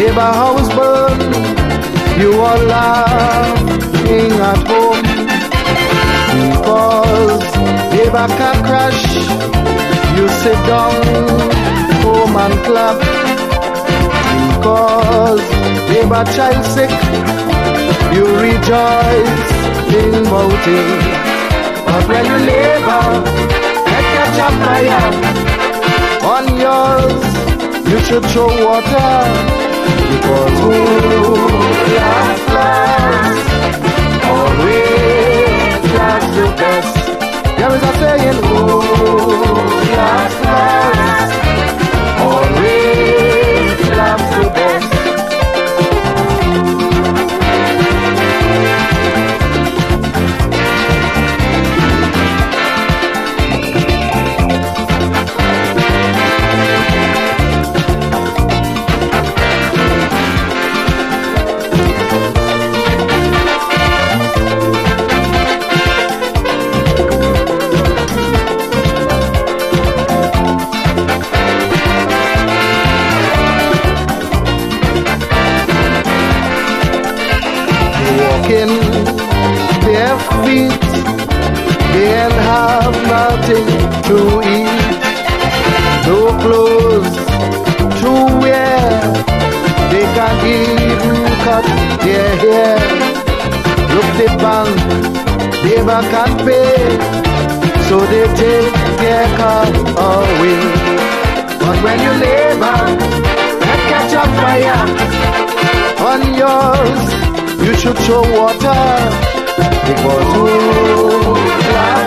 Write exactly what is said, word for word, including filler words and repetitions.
neighbor house burn, you are laughing at home. Because neighbor car crash, you sit down home and clap. Because neighbor child sick, you rejoice in mountain. But when your neighbor get catch a fire on yours, you should show water. Because who last last always last the best. There is a saying, who last last always last the best. Their feet, they have nothing to eat, no clothes to wear, they can't even cut their hair. Look, the bank, they can't pay, so they take their car away. But when your neighbor can catch a fire on yours, you should show water. Because who